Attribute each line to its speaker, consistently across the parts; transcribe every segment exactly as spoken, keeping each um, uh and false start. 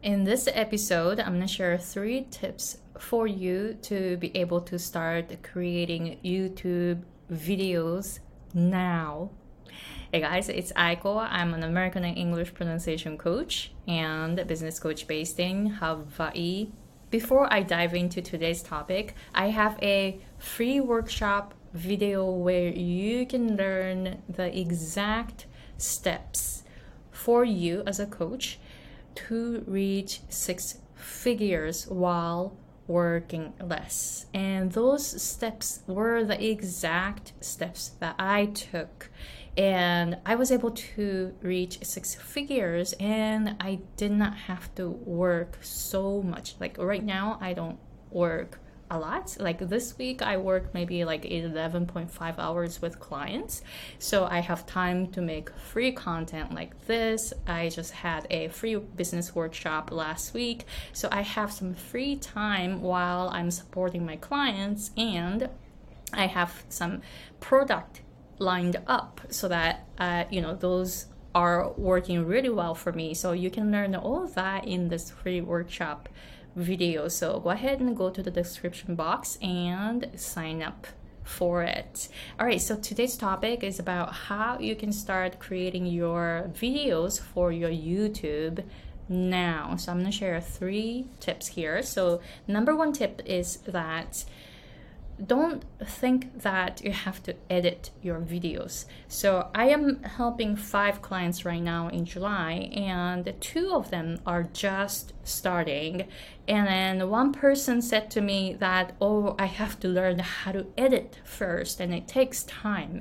Speaker 1: In this episode, I'm going to share three tips for you to be able to start creating YouTube videos now. Hey guys, it's Aiko. I'm an American and English pronunciation coach and a business coach based in Hawaii. Before I dive into today's topic, I have a free workshop video where you can learn the exact steps for you as a coach to reach six figures while working less. And those steps were the exact steps that I took. And I was able to reach six figures and I did not have to work so much. Like right now, I don't work a lot. Like this week, I work maybe like eleven point five hours with clients. So I have time to make free content like this. I just had a free business workshop last week. So I have some free time while I'm supporting my clients, and I have some product lined up so that, uh, you know, those are working really well for me. So you can learn all of that in this free workshop video. So go ahead and go to the description box and sign up for it. All right, so today's topic is about how you can start creating your videos for your YouTube now. So I'm going to share three tips here. So number one tip is that don't think that you have to edit your videos. So I am helping five clients right now in July, and two of them are just starting. And then one person said to me that, oh, I have to learn how to edit first, and it takes time.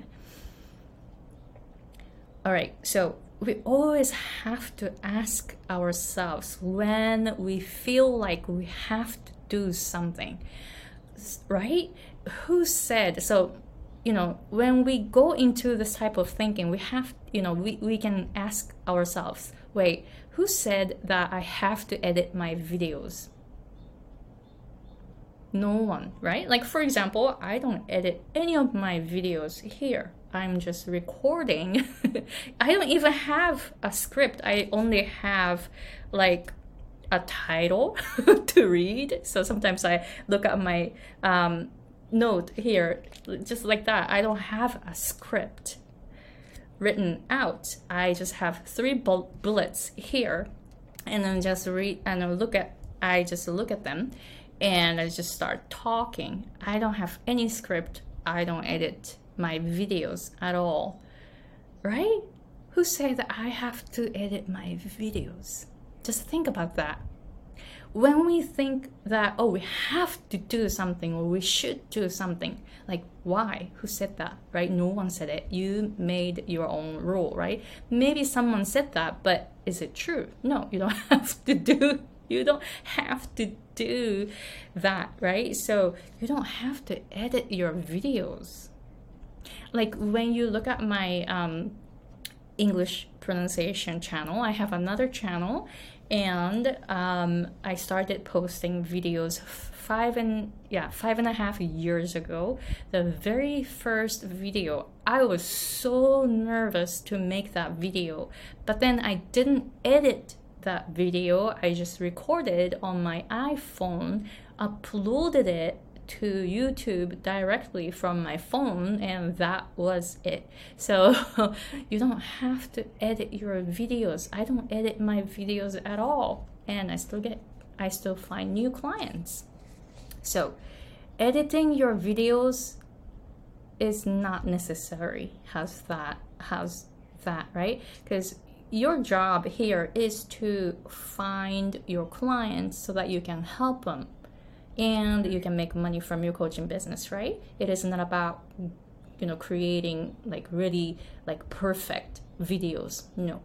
Speaker 1: All right, so we always have to ask ourselves when we feel like we have to do something, right? Who said so? You know, when we go into this type of thinking, we have, you know, we, we can ask ourselves, wait, who said that I have to edit my videos? No one, right? Like, for example, I don't edit any of my videos here. I'm just recording. I don't even have a script. I only have like a title to read. So sometimes I look at my um, note here, just like that. I don't have a script written out. I just have three bu- bullets here, and then just read and look at. I just look at them, and I just start talking. I don't have any script. I don't edit my videos at all, right? Who said that I have to edit my videos? Just think about that. When we think that, oh, we have to do something or we should do something, like why? Who said that, right? No one said it. You made your own rule, right? Maybe someone said that, but is it true? No, you don't have to do, you don't have to do that, right? So you don't have to edit your videos. Like when you look at my um, English pronunciation channel, I have another channel, and um, I started posting videos five and yeah five and a half years ago. The very first video, I was so nervous to make that video, but then I didn't edit that video. I just recorded on my iPhone, uploaded it to YouTube directly from my phone, and that was it. So you don't have to edit your videos. I don't edit my videos at all, and I still get I still find new clients. So editing your videos is not necessary. How's that? How's that, right? Because your job here is to find your clients so that you can help them and you can make money from your coaching business, right? It is not about, you know, creating like really like perfect videos. No.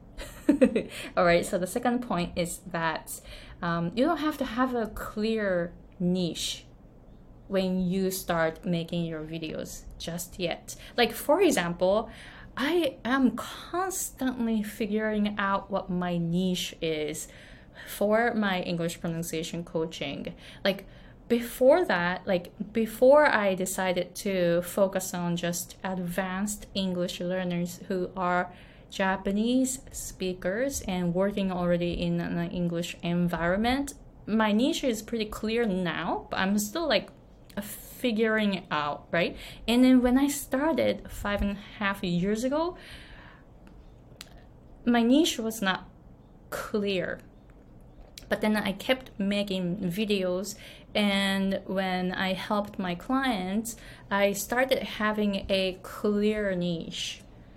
Speaker 1: All right. So the second point is that um, you don't have to have a clear niche when you start making your videos just yet. Like, for example, I am constantly figuring out what my niche is for my English pronunciation coaching. Like, before that, like before I decided to focus on just advanced English learners who are Japanese speakers and working already in an English environment. My niche is pretty clear now, but I'm still like figuring it out, right? And then when I started five and a half years ago, my niche was not clear. But then I kept making videos, and when I helped my clients, I started having a clear niche.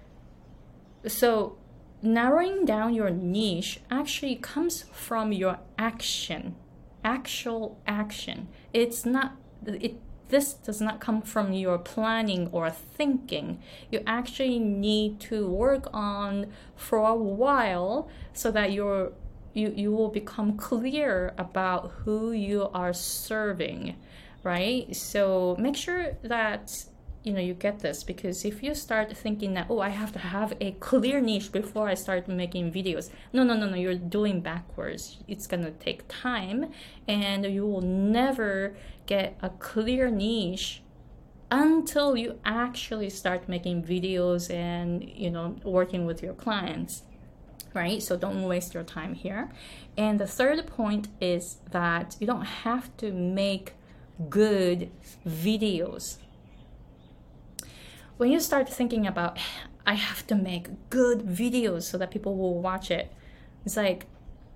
Speaker 1: So narrowing down your niche actually comes from your action, actual action. It's not, it, this does not come from your planning or thinking. You actually need to work on for a while so that you're You, you will become clear about who you are serving, right? So make sure that, you know, you get this, because if you start thinking that, oh, I have to have a clear niche before I start making videos. No, no, no, no, you're doing backwards. It's gonna take time, and you will never get a clear niche until you actually start making videos and, you know, working with your clients. Right? So don't waste your time here. And the third point is that you don't have to make good videos. When you start thinking about, I have to make good videos so that people will watch it, it's like,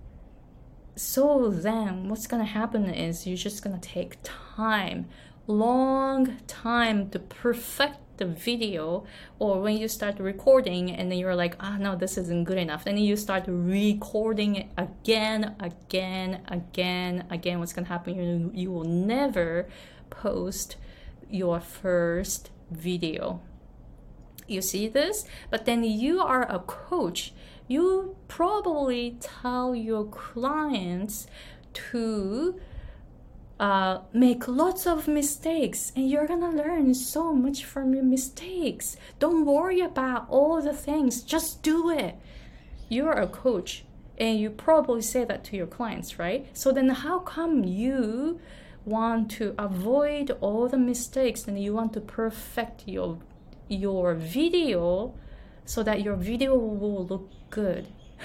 Speaker 1: so then what's gonna happen is you're just gonna take time, long time to perfect the video. Or when you start recording and then you're like, ah, oh, no, this isn't good enough, then you start recording it again, again, again, again. What's gonna happen? You, you will never post your first video. You see this? But then you are a coach. You probably tell your clients to Uh, make lots of mistakes, and you're gonna learn so much from your mistakes. Don't worry about all the things, just do it. You're a coach, and you probably say that to your clients, right? So then how come you want to avoid all the mistakes and you want to perfect your your video so that your video will look good?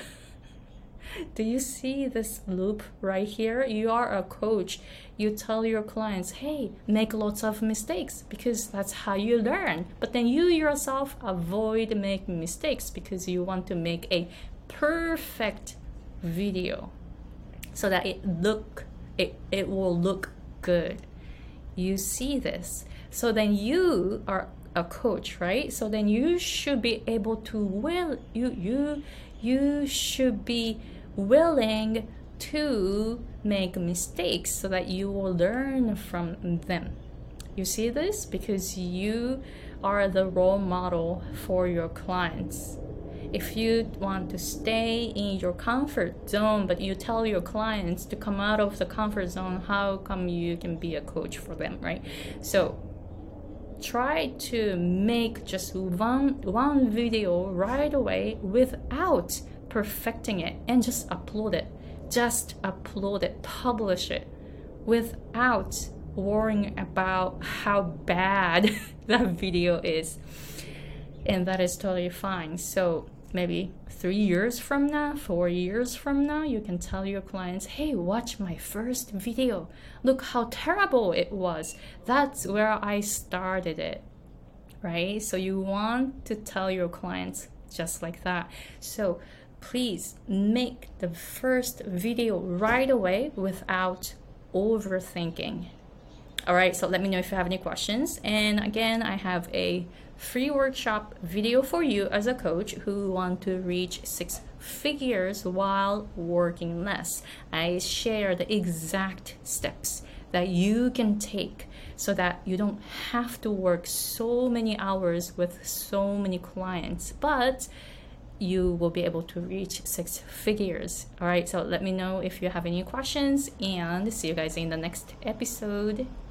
Speaker 1: Do you see this loop right here? You are a coach. You tell your clients, hey, make lots of mistakes because that's how you learn. But then you yourself avoid making mistakes because you want to make a perfect video so that it look it, it will look good. You see this. So then you are a coach, right? So then you should be able to will you you you should be willing to make mistakes so that you will learn from them. You see this? Because you are the role model for your clients. If you want to stay in your comfort zone, but you tell your clients to come out of the comfort zone, how come you can be a coach for them, right? So try to make just one one video right away without perfecting it, and just upload it. Just upload it, publish it without worrying about how bad that video is. And that is totally fine. So maybe three years from now, four years from now, you can tell your clients, hey, watch my first video. Look how terrible it was. That's where I started it, right? So you want to tell your clients just like that. So please make the first video right away without overthinking. All right, so let me know if you have any questions. And again, I have a free workshop video for you as a coach who want to reach six figures while working less. I share the exact steps that you can take so that you don't have to work so many hours with so many clients, but you will be able to reach six figures. All right, so let me know if you have any questions, and see you guys in the next episode.